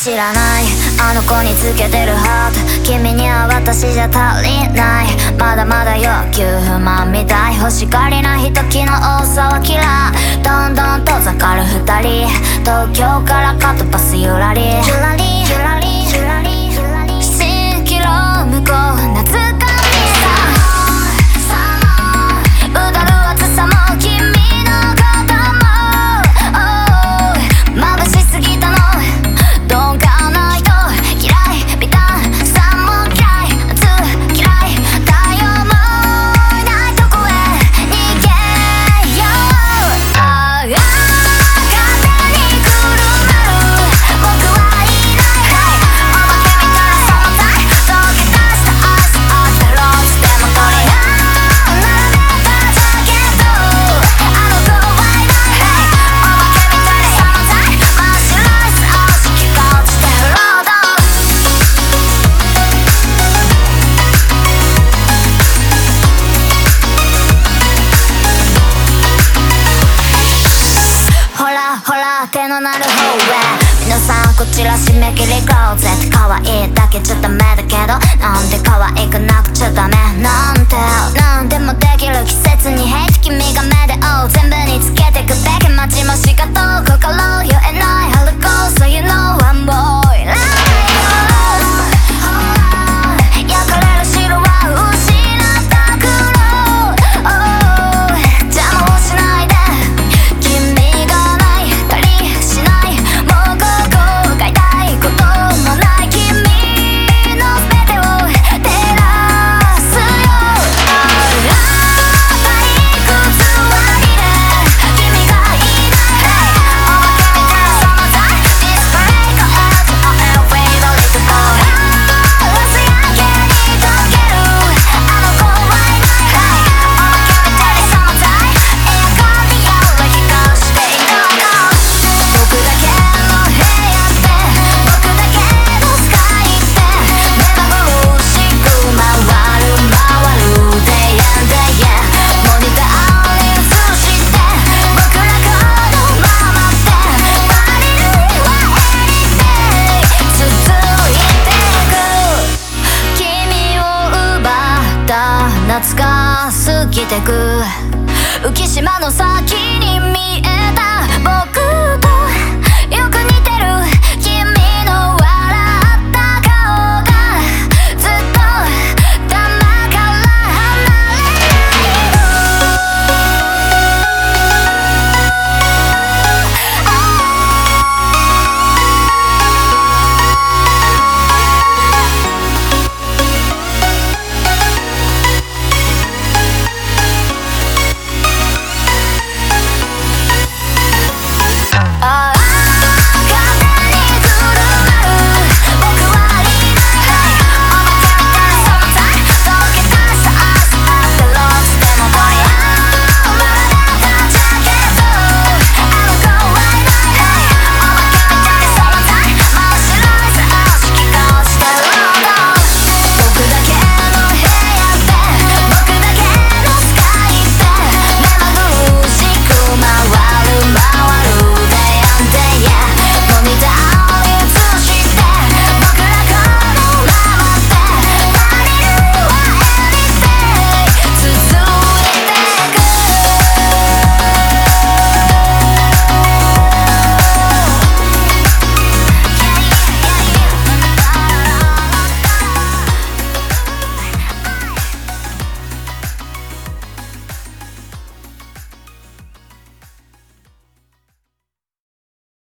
知らないあの子につけてるハート、君には私じゃ足りない。まだまだ欲求不満みたい、欲しがりな人気の多さは嫌い。どんどん遠ざかる二人、東京からカットパスゆらりゆらりゆらりゆらりゆらり、7キロ向こう懐かしさ、うだる暑さも君のことも眩しすぎたの、鈍感な人嫌い、ビタンさんも嫌い、夏嫌い、太陽もいないとこへ逃げよう。ああ風にくるまる僕はいない、お化けみたいな存在、溶け出したアイスあったローズでも鳥が並べたジャケット、あの子はいない、お化けみたいな存在、真っ白いスアーシ気が落ちてるロード。ほらほら手のなる方へ、皆さんこちら締め切りクローゼット、可愛いだけじゃダメだけど、なんで可愛くなくちゃダメなんて、なんでもできる季節にヘイト、君が目で追う全部につけてくべき待ちもしかと心言えない春子、so you know I'm boy like you、 焼かれる白は失った黒、邪魔をしないで、君がないたりしない、もうここが痛いこともない、君の全てを照らすよ。あら退屈割りで君がいない、お化けみたいな存在、ディスプレイコエッジオエルフェイドリットボーイ、朝焼けに溶けるあの子はいない、お化けみたいな存在、エアコンに夜光していないの、僕だけの部屋って僕だけのスカイって目まぐるしく回るデイエンデイエン、モニターに映して僕らこのままってパリルイはエリデイ続いてく、君を奪った夏が過ぎてく、浮島の先